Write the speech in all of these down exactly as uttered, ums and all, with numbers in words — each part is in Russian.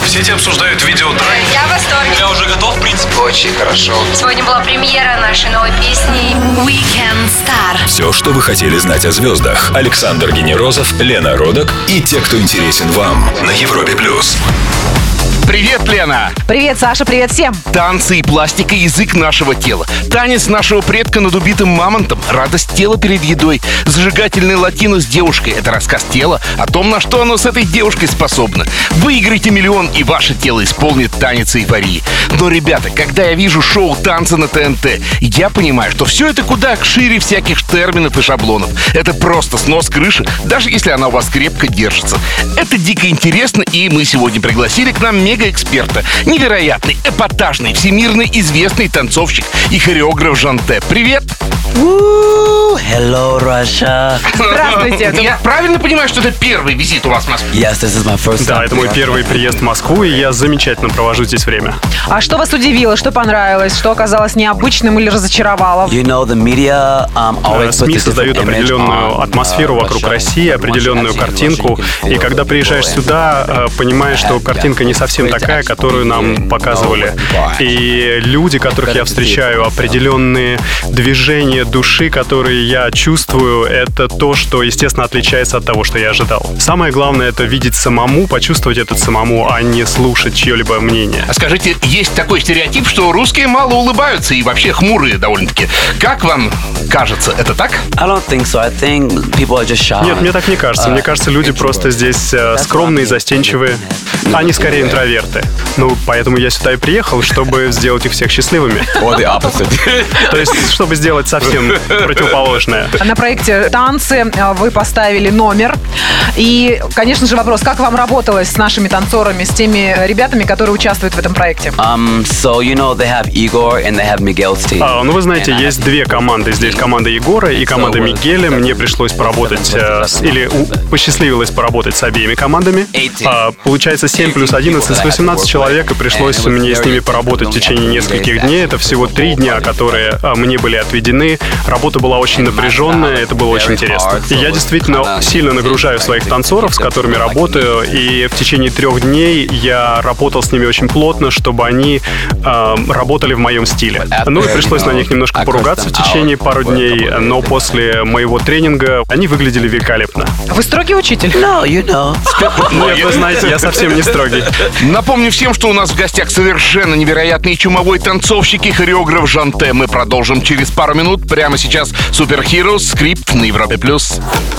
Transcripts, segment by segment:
В сети обсуждают видео трек. Я в восторге. Я уже готов, в принципе. Очень хорошо. Сегодня была премьера нашей новой песни Weekend Star. Все, что вы хотели знать о звездах. Александр Генерозов, Лена Родок и те, кто интересен вам на Европе плюс. Привет, Лена! Привет, Саша, привет всем! Танцы и пластика — язык нашего тела. Танец нашего предка над убитым мамонтом, радость тела перед едой, зажигательный латино с девушкой — это рассказ тела о том, на что оно с этой девушкой способно. Выиграйте миллион, и ваше тело исполнит танец эйфории. Но, ребята, когда я вижу шоу «Танцы» на ТНТ, я понимаю, что все это куда шире всяких терминов и шаблонов. Это просто снос крыши, даже если она у вас крепко держится. Это дико интересно, и мы сегодня пригласили к нам мега-эксперта, невероятный, эпатажный, всемирно известный танцовщик и хореограф Жанте. Привет! Hello, Russia. Здравствуйте. Я правильно понимаю, что это первый визит у вас в Москве? Yes, this is my first Да, time. это мой первый приезд в Москву, и я замечательно провожу здесь время. А что вас удивило, что понравилось, что оказалось необычным или разочаровало? You know, the media um, always puts СМИ a создают different image определенную on, атмосферу uh, вокруг Russia. России, определенную картинку. И когда приезжаешь сюда, понимаешь, что картинка не совсем такая, которую нам показывали. И люди, которых я встречаю, определенные движения души, которые я чувствую, это то, что, естественно, отличается от того, что я ожидал. Самое главное — это видеть самому, почувствовать это самому, а не слушать чье-либо мнение. А скажите, есть такой стереотип, что русские мало улыбаются и вообще хмурые довольно-таки. Как вам кажется, это так? I don't think so. I think people are just shy. Нет, мне так не кажется. Мне кажется, люди просто здесь э, скромные, застенчивые. Они скорее интроверты. Ну, поэтому я сюда и приехал, чтобы сделать их всех счастливыми. Or the opposite. То есть, чтобы сделать совсем противоположное. На проекте «Танцы» вы поставили номер. И, конечно же, вопрос, как вам работалось с нашими танцорами, с теми ребятами, которые участвуют в этом проекте? Um, so you know they have Igor and they have Miguel's team. А, ну, вы знаете, есть две команды. Здесь команда Егора и команда Мигеля. Мне пришлось поработать, э, с, или у, посчастливилось поработать с обеими командами. А, получается, семь плюс одиннадцать, с восемнадцать человек, и пришлось мне с ними поработать в течение нескольких дней. Это всего три дня, которые а, мне были отведены. Работа была очень напряженная, это было очень интересно. И я действительно сильно нагружаю своих танцоров, с которыми работаю, и в течение трех дней я работал с ними очень плотно, чтобы они э, работали в моем стиле. Ну и пришлось на них немножко поругаться в течение пару дней, но после моего тренинга они выглядели великолепно. Вы строгий учитель? No, you know. Нет, вы знаете, я совсем не строгий. Напомню всем, что у нас в гостях совершенно невероятный чумовой танцовщик и хореограф Жанте. Мы продолжим через пару минут. Прямо сейчас Super Heroes, скрипт на Европе+. плюс.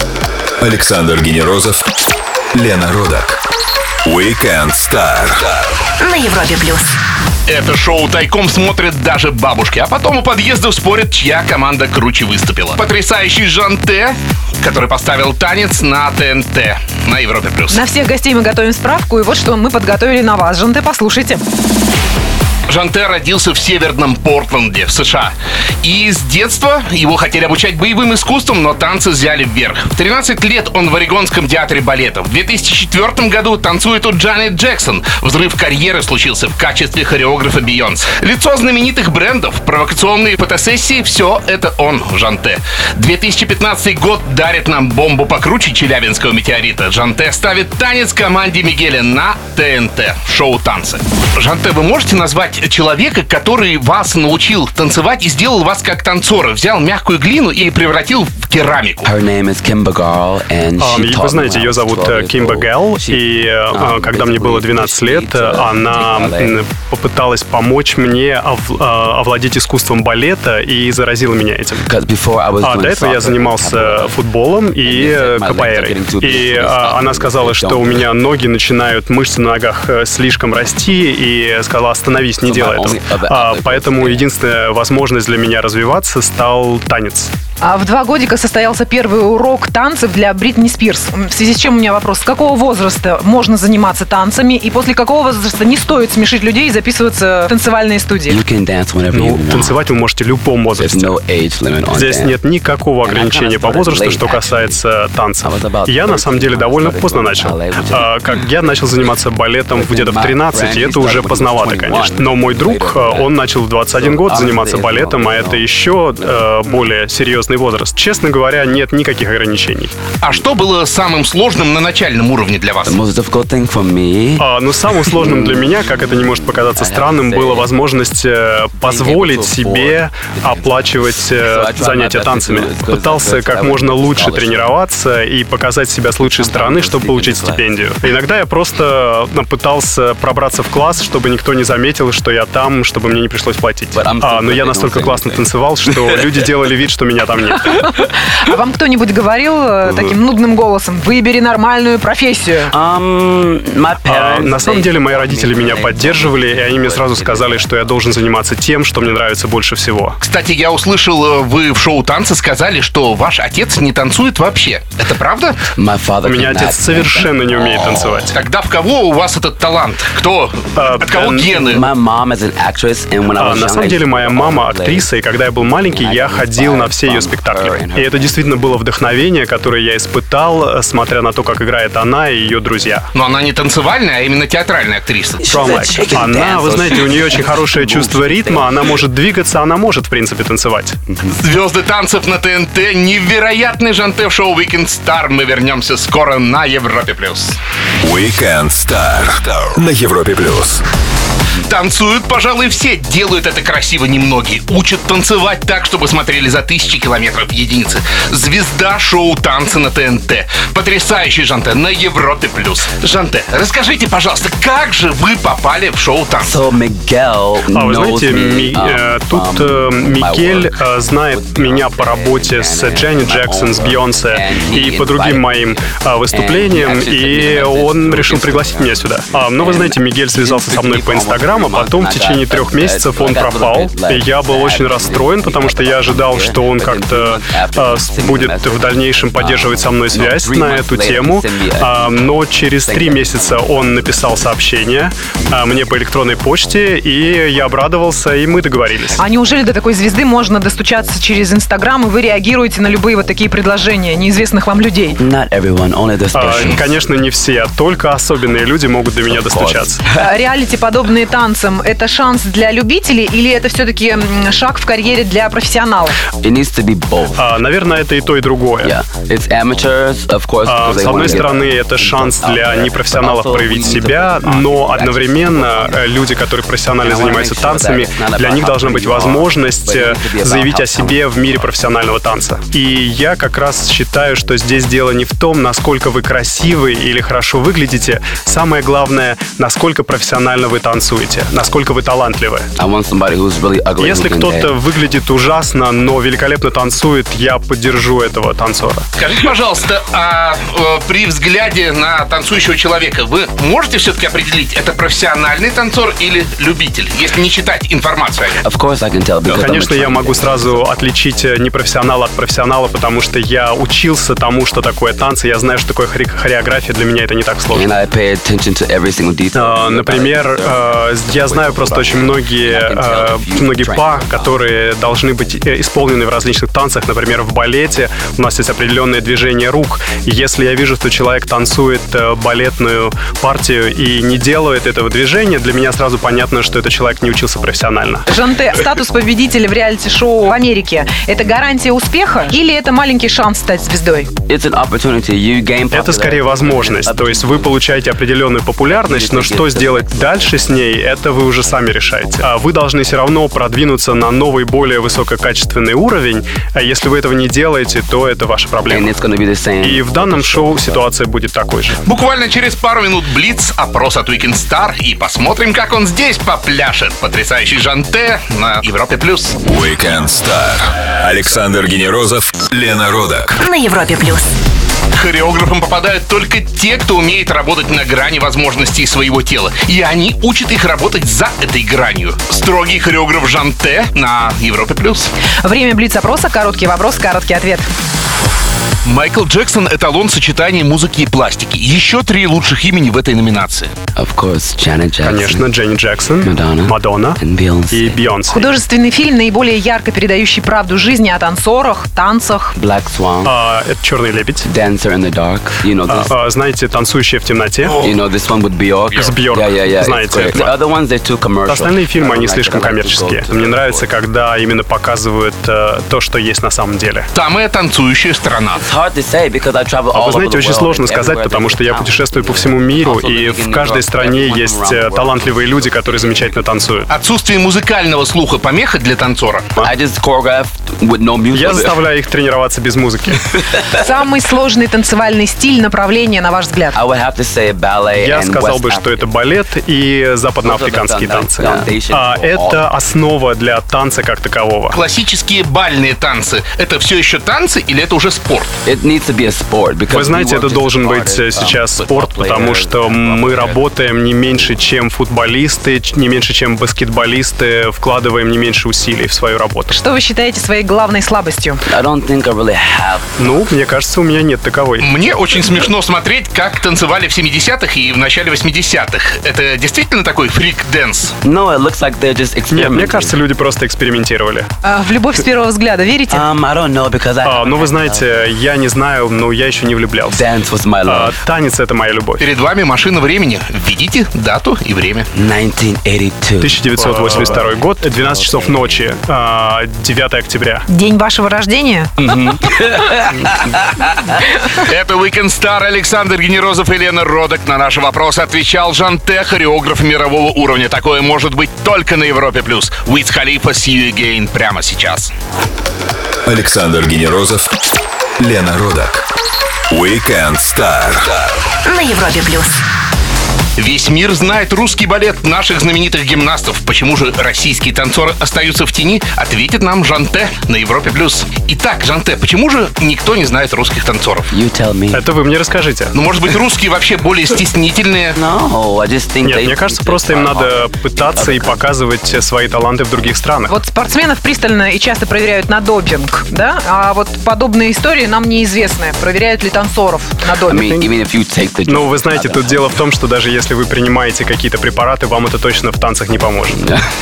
Александр Генерозов, Лена Родок. Weekend Star На Европе плюс. Это шоу тайком смотрят даже бабушки, а потом у подъездов спорят, чья команда круче выступила. Потрясающий Жанте, который поставил танец на ТНТ на Европе+. плюс. На всех гостей мы готовим справку, и вот что мы подготовили на вас. Жанте, послушайте. Жанте родился в северном Портленде, в США. И с детства его хотели обучать боевым искусствам, но танцы взяли вверх. В тринадцать лет он в Орегонском театре балета. В две тысячи четвёртом году танцует у Джанет Джексон. Взрыв карьеры случился в качестве хореографа Бейонсе. Лицо знаменитых брендов, провокационные фотосессии — все это он, Жанте. две тысячи пятнадцатый год дарит нам бомбу покруче челябинского метеорита. Жанте ставит танец команде Мигеля на ТНТ. Шоу «Танцы». Жанте, вы можете назвать человека, который вас научил танцевать и сделал вас как танцора? Взял мягкую глину и превратил в керамику. Her name is Kimba Garl, and she Um, taught Вы знаете, me when I ее was зовут twelve years Кимба old. Гэл, She, и um, э, когда мне было двенадцать лет, basically она teach me ballet. м, попыталась помочь мне ов- э, овладеть искусством балета и заразила меня этим. Because before I was А doing до этого я soccer, занимался capoeira. футболом и э, капоэйрой. И а, она сказала, что у меня ноги начинают, мышцы на ногах э, слишком расти, и сказала: остановись, не делай этого. А, Поэтому единственная возможность для меня развиваться стал танец. А в два годика состоялся первый урок танцев для Бритни Спирс. В связи с чем у меня вопрос: с какого возраста можно заниматься танцами, и после какого возраста не стоит смешить людей и записываться в танцевальные студии? You can dance whenever you Ну, want. танцевать вы можете в любом There's возрасте. no age limit on Здесь dance. нет никакого ограничения по возрасту, что касается танцев. Я, на самом деле, довольно поздно начал. А, как я начал заниматься балетом где-то в тринадцать, и это уже поздновато, конечно. Но мой друг, он начал в двадцать один год заниматься балетом, а это еще э, более серьезный серьезный возраст. Честно говоря, нет никаких ограничений. А что было самым сложным на начальном уровне для вас? The most difficult thing for me. А, но самым сложным для меня, как это не может показаться странным, была возможность э, позволить себе оплачивать э, занятия танцами. Пытался как можно лучше тренироваться и показать себя с лучшей стороны, чтобы получить стипендию. Иногда я просто э, пытался пробраться в класс, чтобы никто не заметил, что я там, чтобы мне не пришлось платить. А, но я настолько классно танцевал, что люди делали вид, что меня там нет. А вам кто-нибудь говорил э, таким нудным голосом: выбери нормальную профессию? Um, my А, parents, на самом they- деле мои родители меня поддерживали, и они мне сразу сказали, что я должен заниматься тем, что мне нравится больше всего. Кстати, я услышал, вы в шоу «Танцы» сказали, что ваш отец не танцует вообще. Это правда? My father У меня cannot отец совершенно не умеет танцевать. Тогда в кого у вас этот талант? Кто? А, От кого э, гены? My mom is an actress, and when I А, was на young, самом I деле used to моя go мама all актриса, и когда я был маленький, я ходил на все ее спектакли. И это действительно было вдохновение, которое я испытал, смотря на то, как играет она и ее друзья. Но она не танцевальная, а именно театральная актриса. From like. Она, вы знаете, у нее очень хорошее чувство ритма, она может двигаться, она может, в принципе, танцевать. Звезды танцев на ТНТ, невероятный Жанте в шоу Weekend Star. Мы вернемся скоро на Европе+. плюс. Weekend Star на Европе плюс. Танцуют, пожалуй, все. Делают это красиво немногие. Учат танцевать так, чтобы смотрели за тысячи километров единицы. Звезда шоу «Танцы» на ТНТ. Потрясающий Жанте на Европе+. плюс. Жанте, расскажите, пожалуйста, как же вы попали в шоу «Танцы»? So Miguel А вы knows знаете, me, Ми- э, um, тут from э, my Мигель work э, знает меня по работе с Дженни Джексон, с Бейонсе и по другим моим э, выступлениям, и он решил пригласить меня сюда. А, но вы знаете, Мигель связался со мной по Инстаграму, а потом в течение трех месяцев он пропал. И я был очень расстроен, потому что я ожидал, что он как-то э, с- будет в дальнейшем поддерживать со мной связь на эту тему. А, но через три месяца он написал сообщение а, мне по электронной почте, и я обрадовался, и мы договорились. А неужели до такой звезды можно достучаться через Инстаграм, и вы реагируете на любые вот такие предложения неизвестных вам людей? Not everyone, only the А, special. конечно, не все, только особенные люди могут до меня достучаться. А реалити, подобные танцам, это шанс для любителей или это все-таки м, шаг в карьере для профессионалов? It needs to be both. А, наверное, это и то, и другое. Yeah, it's amateurs, of course. А, because they С одной wanna get стороны, это шанс out для there, непрофессионалов but also проявить we need to себя, focus on но practice. одновременно э, люди, которые профессионально занимаются танцами, для них должна быть возможность э, заявить о себе в мире профессионального танца. И я как раз считаю, что здесь дело не в том, насколько вы красивы или хорошо выглядите. Самое главное, насколько профессионально вы танцуете, насколько вы талантливы. I want somebody who's really ugly. Если who can кто-то dance. выглядит ужасно, но великолепно танцует, я поддержу этого танцора. Скажите, пожалуйста, а э, при взгляде на танцующего человека вы можете все-таки определить, это профессиональный танцор или любитель, если не читать информацию о нем? Of course I can tell because I'm a Конечно, я trained могу dancer. сразу отличить непрофессионала от профессионала, потому что я учился тому, что такое танцы, я знаю, что такое хоре- хореография, для меня это не так And сложно. I pay attention to every single detail. А, Например, э, я знаю просто очень многие, э, многие па, которые должны быть э, исполнены в различных танцах. Например, в балете у нас есть определенное движение рук. И если я вижу, что человек танцует э, балетную партию и не делает этого движения, для меня сразу понятно, что этот человек не учился профессионально. Жанте, статус победителя в реалити-шоу в Америке – это гарантия успеха или это маленький шанс стать звездой? It's an opportunity. You gain Это скорее возможность. То есть вы получаете определенную популярность, но что сделать дальше с ней, это вы уже сами решаете. А вы должны все равно продвинуться на новый, более высококачественный уровень. А если вы этого не делаете, то это ваша And проблема. it's gonna be the same. И в данном шоу ситуация будет такой же. Буквально через пару минут блиц, опрос от Weekend Star, и посмотрим, как он здесь попляшет. Потрясающий Жанте на Европе+. плюс. Weekend Star. Александр Генерозов, Лена Родак. На Европе плюс. Хореографам попадают только те, кто умеет работать на грани возможностей своего тела. И они учат их работать за этой гранью. Строгий хореограф Жанте на Европе+. плюс. Время блиц-опроса, короткий вопрос, короткий ответ. Майкл Джексон — эталон сочетания музыки и пластики. Еще три лучших имени в этой номинации. Of course, Janet Jackson. Конечно, Дженни Джексон, Madonna. Мадонна And Beyonce. и Бейонсе. Художественный фильм, наиболее ярко передающий правду жизни о танцорах, танцах. Black Swan. А, это «Черный лебедь». Dancer in the Dark. You know this. А, знаете, «Танцующая в темноте». You know this one with Bjork. С Бьорк. Yeah, yeah, yeah. Знаете It's great. это. The other ones, they're too commercial. Остальные фильмы, они I don't like слишком it. I like to коммерческие. go to Мне the нравится, sport. когда именно показывают э, то, что есть на самом деле. Самая танцующая страна. It's hard to say because I travel А all вы over знаете, the очень world, сложно and сказать, everywhere потому there's что я talent. путешествую по всему миру, Also и living в in New каждой York, стране everyone есть around the э, world. талантливые люди, которые замечательно танцуют. Отсутствие музыкального слуха помеха для танцора. I just choreographed with no music. Я заставляю их тренироваться без музыки. Самый сложный танцевальный стиль, направление, на ваш взгляд? I would have to say ballet Я and сказал West бы, что это African. балет и западноафриканские танцы. А это основа для танца как такового. Классические бальные танцы — это все еще танцы или это уже спорт? It needs to be a sport because Вы знаете, we work это just должен as hard быть as, э, um, сейчас football спорт, потому players, что basketball мы players. работаем не меньше, чем футболисты, ч- не меньше, чем баскетболисты, вкладываем не меньше усилий в свою работу. Что вы считаете своей главной слабостью? I don't think I really have. Ну, мне кажется, у меня нет таковой. Мне очень смешно смотреть, как танцевали в семидесятых и в начале восьмидесятых. Это действительно такой фрик-дэнс? No, it looks like they're just experimenting. Нет, мне кажется, люди просто экспериментировали. А, в любовь с первого взгляда верите? Um, I don't know because I. А, ну, вы знаете, я не знаю, но я еще не влюблялся. Dance was my А, love. танец — это моя любовь. Перед вами машина времени. Введите дату и время. nineteen eighty-two. тысяча девятьсот восемьдесят второй год, двенадцать часов ночи, а, девятого октября. День вашего рождения? Это Weekend Star. Александр Генерозов и Лена Родок. На наши вопросы отвечал Жанте, хореограф мирового уровня. Такое может быть только на Европе+. Уиз Халифа, See You Again прямо сейчас. Александр Генерозов, Лена Родок. Weekend Star. На Европе плюс. Весь мир знает русский балет наших знаменитых гимнастов. Почему же российские танцоры остаются в тени, ответит нам Жанте на Европе+. Итак, Жанте, почему же никто не знает русских танцоров? You tell me. Это вы мне расскажите. Ну, может быть, русские вообще более стеснительные? No, I just think Нет, they. мне кажется, просто им надо пытаться и показывать свои таланты в других странах. Вот спортсменов пристально и часто проверяют на допинг, да? А вот подобные истории нам неизвестны. Проверяют ли танцоров на I допинг? mean, even if you take the. Ну, вы знаете, тут дело в том, что даже если вы принимаете какие-то препараты, вам это точно в танцах не поможет.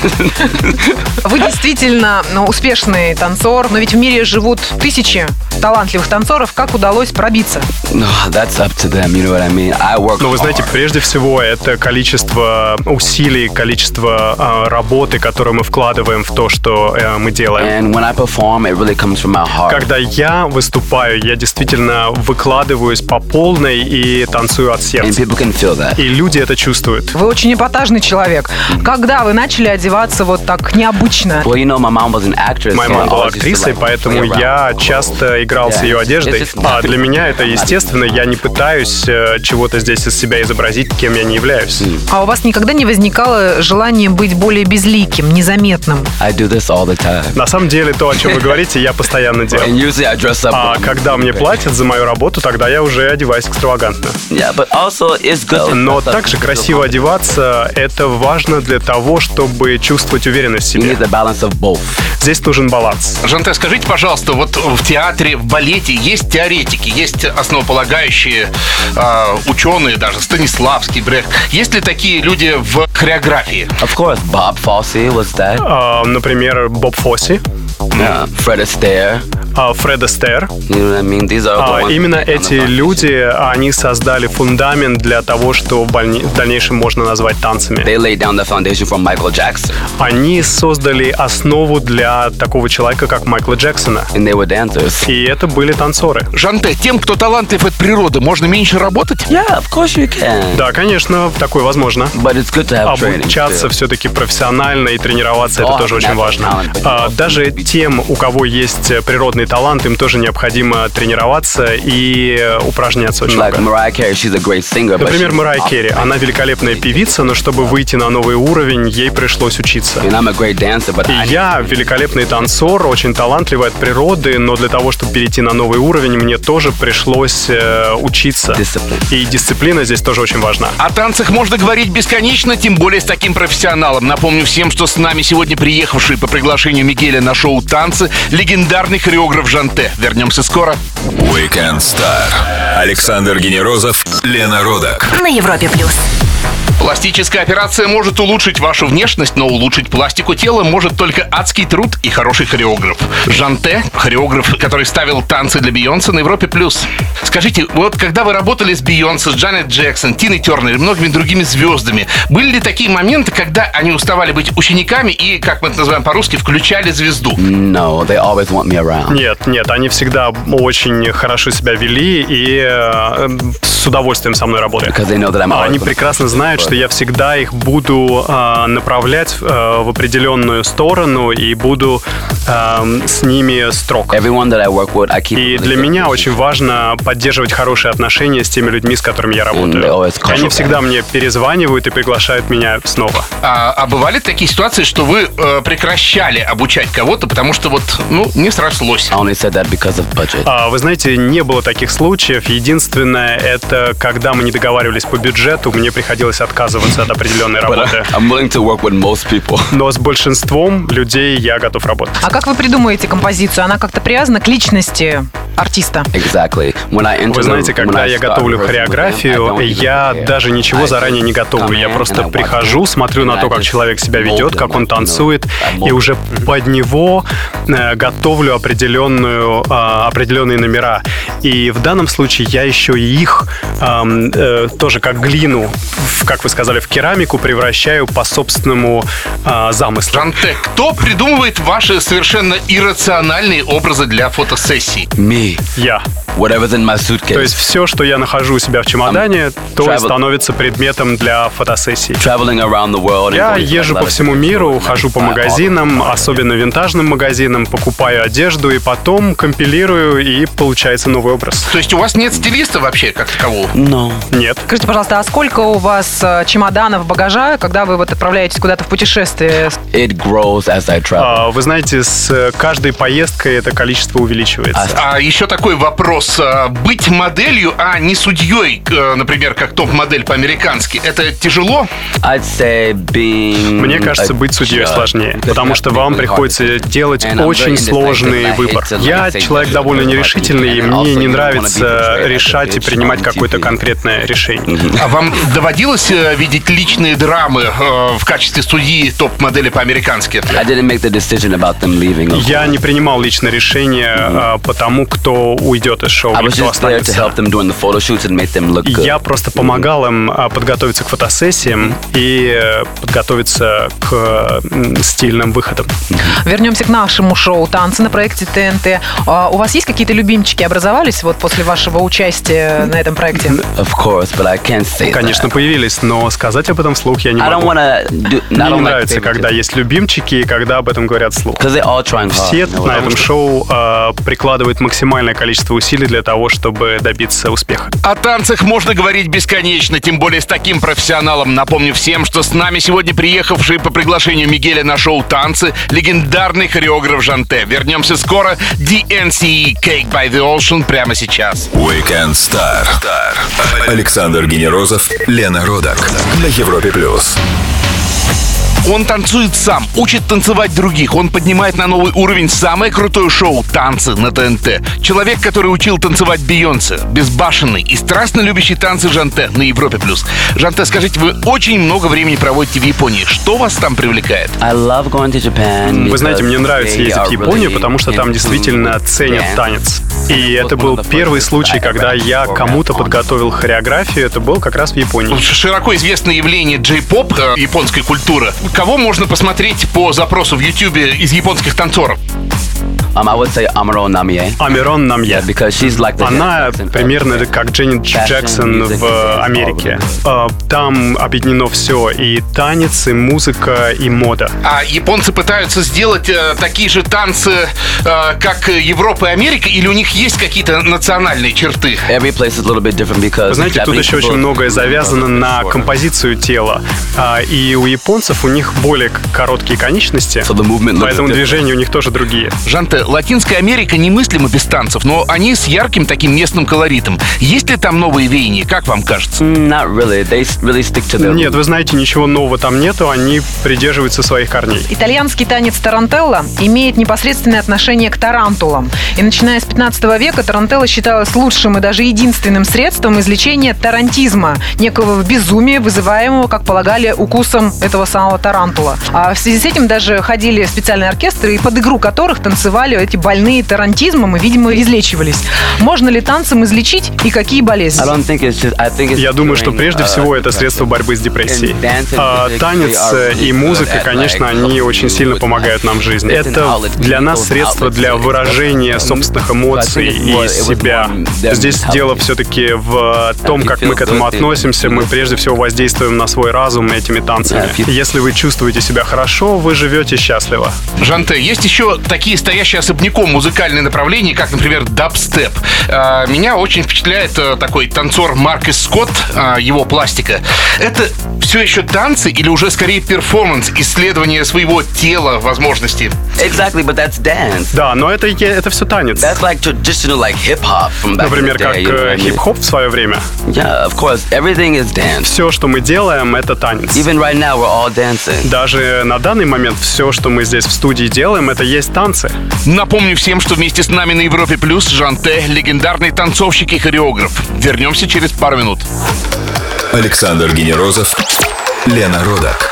Вы действительно ну, успешный танцор, но ведь в мире живут тысячи талантливых танцоров. Как удалось пробиться? No, that's up to them. You know what I mean? I work. Но вы знаете, hard. прежде всего, это количество усилий, количество э, работы, которую мы вкладываем в то, что э, мы делаем. And when I perform, it really comes from my heart. Когда я выступаю, я действительно выкладываюсь по полной и танцую от And сердца. people can feel that. И люди это чувствуют. Вы очень эпатажный человек. Когда вы начали одеваться вот так необычно? Well, you know, my mom was an actress. Моя so I мама была always used to, актрисой, like, поэтому play around я with часто играл с Yeah. ее одеждой. It's just- А для меня это естественно. Я не пытаюсь э, чего-то здесь из себя изобразить, кем я не являюсь. А у вас никогда не возникало желания быть более безликим, незаметным? I do this all the time. На самом деле, то, о чем вы говорите, я постоянно And делаю. usually I dress up. А when I'm когда мне ready. платят за мою работу, тогда я уже одеваюсь экстравагантно. Yeah, but also it's good. to Но dress up также to feel красиво confident. одеваться — это важно для того, чтобы чувствовать уверенность в You себе. need the balance of both. Здесь нужен баланс. Жанте, скажите, пожалуйста, вот в театре, в балете есть теоретики, есть основополагающие э, ученые, даже Станиславский, Брехт. Есть ли такие люди в хореографии? Of course, Bob Fosse was that. А, например, Боб Фосси, Yeah, Fred Astaire. а, Фред Астер. You know what I mean? These are the А, ones Именно that get on эти the stage. люди, они создали фундамент для того, что в больни- в дальнейшем можно назвать танцами. They laid down the foundation for Michael Jackson, Они создали основу для такого человека, как Майкла Джексона. and they were dancers. И это были танцоры. Жанте, тем, кто талантлив от природы, можно меньше работать? Yeah, of course you can. Да, конечно, такое возможно. But it's good to have training. Обучаться too. все-таки профессионально и тренироваться, это Oh, тоже очень natural важно. talent, but А, also Даже тем, у кого есть природный талант, им тоже необходимо тренироваться и упражняться очень Like много. Mariah Carey, she's a great singer. but Например, she's Марайя awesome. Керри. Она великолепная певица, но чтобы выйти на новый уровень, ей пришлось учиться. And I'm a great dancer, but I И я великолепный танцор, очень талантливый от природы, но для того, чтобы перейти на новый уровень, мне тоже пришлось э, учиться. Discipline. И дисциплина здесь тоже очень важна. О танцах можно говорить бесконечно, тем более с таким профессионалом. Напомню всем, что с нами сегодня приехавший по приглашению Мигеля на шоу «Танцы» легендарный хореограф хореограф Жанте. Вернемся скоро. Weekend Star. Александр Генерозов, Лена Родак. На Европе плюс. Пластическая операция может улучшить вашу внешность, но улучшить пластику тела может только адский труд и хороший хореограф. Жанте, хореограф, который ставил танцы для Бейонсе на Европе+. Скажите, вот когда вы работали с Бейонсе, с Джанет Джексон, Тиной Тернер и многими другими звездами, были ли такие моменты, когда они уставали быть учениками и, как мы это называем по-русски, включали звезду? No, they always want me around. Нет, нет, они всегда очень хорошо себя вели и э, с удовольствием со мной работали. Because they know that I'm Они always прекрасно знают, что я всегда их буду э, направлять э, в определенную сторону и буду э, с ними строг. Everyone that I work with, I keep И really для good меня relationship. очень важно поддерживать хорошие отношения с теми людьми, с которыми я they работаю. always call Они me всегда back. мне перезванивают и приглашают меня снова. А, а бывали такие ситуации, что вы э, прекращали обучать кого-то, потому что вот, ну, не срослось? I only said that because of budget. А, Вы знаете, не было таких случаев. Единственное, это когда мы не договаривались по бюджету, мне приходилось отказываться от определенной But работы. I- I'm willing to work with most people. Но с большинством людей я готов работать. А как вы придумаете композицию? Она как-то привязана к личности артиста? Exactly. When I enter Вы знаете, the- когда when I я start готовлю rehearsing with them, I хореографию, don't even я prepare. даже ничего I заранее не just готовлю. come Я in просто and I watch прихожу, them, смотрю and на I то, как just человек себя mold ведет, them, как он like, you know, танцует, I mold и уже them. под него э, готовлю определенную, а, определенные номера. И в данном случае я еще и их ам, э, тоже как глину, в, как вы сказали, в керамику превращаю по собственному а, замыслу. Жанте, кто придумывает ваши совершенно иррациональные образы для фотосессий? Me. Я. Whatever's in my suitcase. То есть все, что я нахожу у себя в чемодане, то и travel- становится предметом для фотосессии. Traveling around the world and Я going to, like, езжу a lot по of всему different миру, stores and хожу по buy all the магазинам, products. особенно винтажным магазинам, покупаю одежду и потом компилирую, и получается новый образ. То есть у вас нет стилиста вообще, как такового? No. Нет. Скажите, пожалуйста, а сколько у вас э, чемоданов багажа, когда вы вот отправляетесь куда-то в путешествие? It grows as I travel. А, Вы знаете, с каждой поездкой это количество увеличивается. А еще такой вопрос. А, Быть моделью, а не судьей, э, например, как топ-модель по-американски, это тяжело? I'd say being Мне кажется, a быть судьей judge, сложнее, because потому you что have to вам make really hard приходится decisions. делать And I'm very очень indecisive, сложный and I выбор. hate to, like, Я say человек judge довольно everybody, нерешительный, и and мне also не you don't wanna be нравится portrayed as a решать и bitch принимать on какое-то ти ви. конкретное решение. А вам доводилось э, видеть личные драмы э, в качестве судьи топ-модели по-американски? I didn't make the decision about them leaving. of Я course. не принимал личное решение а, по тому, кто уйдет из шоу I или was кто just there to останется. help them during the photo shoots and make them look good. Я просто помогал им а, подготовиться к фотосессиям и э, подготовиться к м, стильным выходам. Вернемся к нашему шоу «Танцы» на проекте ТНТ. А у вас есть какие-то любимчики образовались вот после вашего участия на этом проекте? Of course, but I can't say Конечно, that. появились, но сказать об этом вслух я не I don't могу. want to do. I Мне don't не like нравится, когда favoritism. есть любимчики и когда об этом говорят вслух. Because they're all trying hard. Все you know, на потому этом что- шоу а, прикладывают максимальное количество усилий для того, чтобы добиться успеха. О танцах можно говорить бесконечно, тем более с таким профессионалом. Напомню всем, что с нами сегодня приехавший по приглашению Мигеля на шоу «Танцы» легендарный хореограф Жанте. Вернемся скоро. ди эн си Cake by the Ocean прямо сейчас. Weekend Star. Александр Генерозов, Лена Родак. На Европе плюс. Он танцует сам, учит танцевать других. Он поднимает на новый уровень самое крутое шоу «Танцы» на ТНТ. Человек, который учил танцевать Бейонсе, безбашенный и страстно любящий танцы Жанте на Европе+. Жанте, скажите, вы очень много времени проводите в Японии. Что вас там привлекает? I love going to Japan. Вы знаете, because мне нравится they ездить are в Японию, really потому что там into действительно ценят dance. танец. И это был первый случай, когда я кому-то подготовил хореографию. Это был как раз в Японии. Широко известное явление джей-поп, э, японской культуры. Кого можно посмотреть по запросу в Ютьюбе из японских танцоров? Um, I would say Amuro Namie. Амирон Намье. Yeah, because she's like the Она Janet Jackson примерно of как Дженнет fashion, Джексон music, в and Америке. all of А, Там объединено все. И танец, и музыка, и мода. А японцы пытаются сделать э, такие же танцы, э, как Европа и Америка, или у них есть какие-то национальные черты? Every place is a little bit different because Вы знаете, тут Japanese еще очень people- многое завязано на композицию тела. А, И у японцев у них более к- короткие конечности, So the movement looks поэтому different. движения у них тоже другие. Жанте, Жанте, Латинская Америка немыслима без танцев, но они с ярким таким местным колоритом. Есть ли там новые веяния, как вам кажется? Not really. They really stick to their Нет, вы знаете, ничего нового там нету, они придерживаются своих корней. Итальянский танец тарантелла имеет непосредственное отношение к тарантулам. И начиная с пятнадцатого века тарантелла считалась лучшим и даже единственным средством излечения тарантизма, некого безумия, вызываемого, как полагали, укусом этого самого тарантула. А в связи с этим даже ходили специальные оркестры, и под игру которых танцевали эти больные тарантизмом и, видимо, излечивались. Можно ли танцем излечить и какие болезни? I don't think it's just, I think it's Я думаю, что during, прежде uh, всего это средство борьбы с депрессией. And dance and А, music, танец they are и really музыка, good at, конечно, like, они helping очень you сильно with помогают that. нам в жизни. It's an Это outlet, для нас people's средство outlets для to выражения express собственных themselves. эмоций I think it и was- it was себя. more them Здесь helping дело you. все-таки в том, you как feel мы к этому good, you относимся. Мы feel прежде всего воздействуем на свой разум этими танцами. Yeah, if you- Если вы чувствуете себя хорошо, вы живете счастливо. Жанте, есть еще такие стоящие особняком музыкальные направления, как, например, дабстеп. А, Меня очень впечатляет а, такой танцор Маркус Скотт, а, его пластика. Это все еще танцы или уже скорее перформанс, исследование своего тела, возможностей? Exactly, but that's dance. Да, но это, это все танец. That's like traditional, like hip-hop from back Например, in the как day, you know what э, I mean? хип-хоп в свое время. Yeah, of course. Everything is dance. Все, что мы делаем, это танец. Even right now, we're all dancing. Даже на данный момент все, что мы здесь в студии делаем, это есть танцы. Напомню всем, что вместе с нами на Европе Плюс Жанте, легендарный танцовщик и хореограф. Вернемся через пару минут. Александр Генерозов, Лена Родак.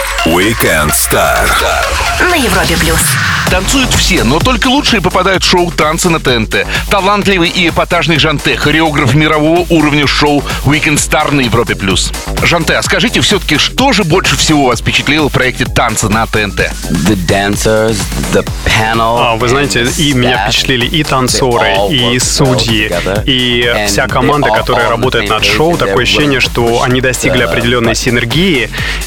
Weekend Star. На Европе плюс. Танцуют все, но только лучшие попадают в шоу «Танцы на ТНТ». Талантливый и эпатажный Жанте, хореограф мирового уровня шоу «Weekend Star» на Европе+. Жанте, а скажите все-таки, что же больше всего вас впечатлило в проекте «Танцы на ТНТ»? The dancers, the panel. А, вы знаете, and и the меня staff, впечатлили и танцоры, they all и work судьи, well together. и And вся they команда, all которая on the работает same над page, шоу. and Такое they're ощущение, willing to что push они достигли the определенной button. синергии,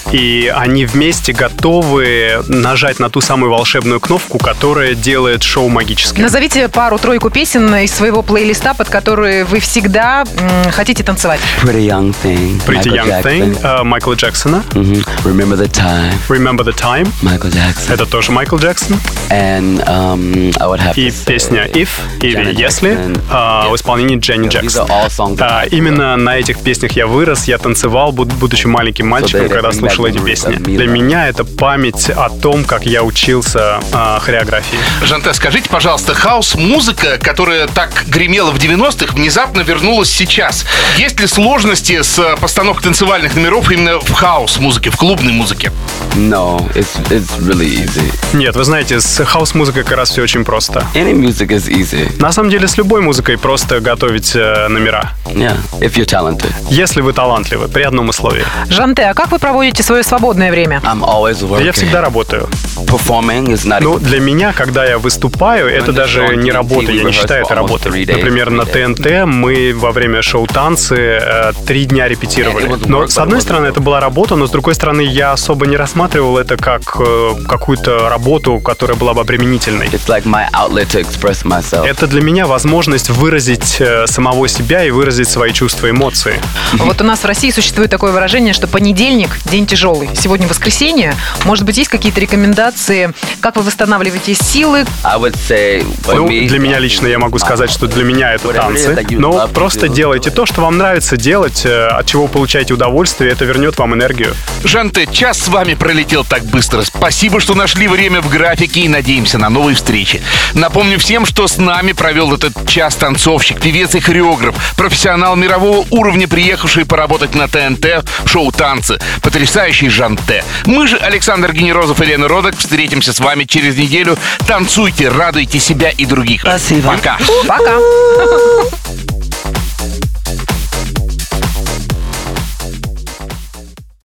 и они вместе готовы нажать на ту самую волшебную кнопку, которая делает шоу магическим. Назовите пару-тройку песен из своего плейлиста, под которые вы всегда м, хотите танцевать. Pretty Young Thing. Pretty Michael Young Thing Jackson. э, Майкла Джексона. Mhm. Remember the Time. Remember the Time. Michael Jackson. Это тоже Майкл Джексон. And um, I would have И to say песня If или Janet Если Jackson. а, в Yes. исполнении Дженни These are Джексон. all songs that А, I Именно на этих песнях я вырос, я танцевал, буд- будучи маленьким мальчиком, they когда bring слушал back эти memories песни. of me, Для да. меня это память о том, как я учился а, хореографии. Жанте, скажите, пожалуйста, хаос-музыка, которая так гремела в девяностых, внезапно вернулась сейчас. Есть ли сложности с э, постановкой танцевальных номеров именно в хаос-музыке, в клубной музыке? No, it's it's really easy. Нет, вы знаете, с хаус-музыкой как раз все очень просто. Any music is easy. На самом деле, с любой музыкой просто готовить э, номера. Yeah, if you're talented. Если вы талантливы, при одном условии. Жанте, а как вы проводите свое свободное время? I'm always working. Я всегда работаю. Performing is not. Ну, для меня, когда я выступаю, это даже не работа, я не считаю это работой. Например, на ТНТ мы во время шоу «Танцы» э, три дня репетировали. Но, с одной стороны, это была работа, но, с другой стороны, я особо не рассматривал это как э, какую-то работу, которая была бы обременительной. It's like my outlet to express myself. Это для меня возможность выразить э, самого себя и выразить свои чувства, эмоции. Вот у нас в России существует такое выражение, что понедельник – день тяжелый. Сегодня воскресенье. Может быть, есть какие-то рекомендации, как вы восстанавливаете силы? I would say for Ну, me, для меня лично я могу сказать, что для меня это танцы. Но просто делайте то, что вам нравится делать, э, от чего вы получаете удовольствие, это вернет вам энергию. Жанте, час с вами пролетел так быстро. Спасибо, что нашли время в графике, и надеемся на новые встречи. Напомню всем, что с нами провел этот час танцовщик, певец и хореограф, профессионал мирового уровня, приехавший поработать на ТНТ в шоу «Танцы», потрясающий Жанте. Мы же, Александр Генерозов и Лена Родак, встретимся с вами через неделю. Танцуйте, радуйте себя и других. Спасибо. Пока. Пока!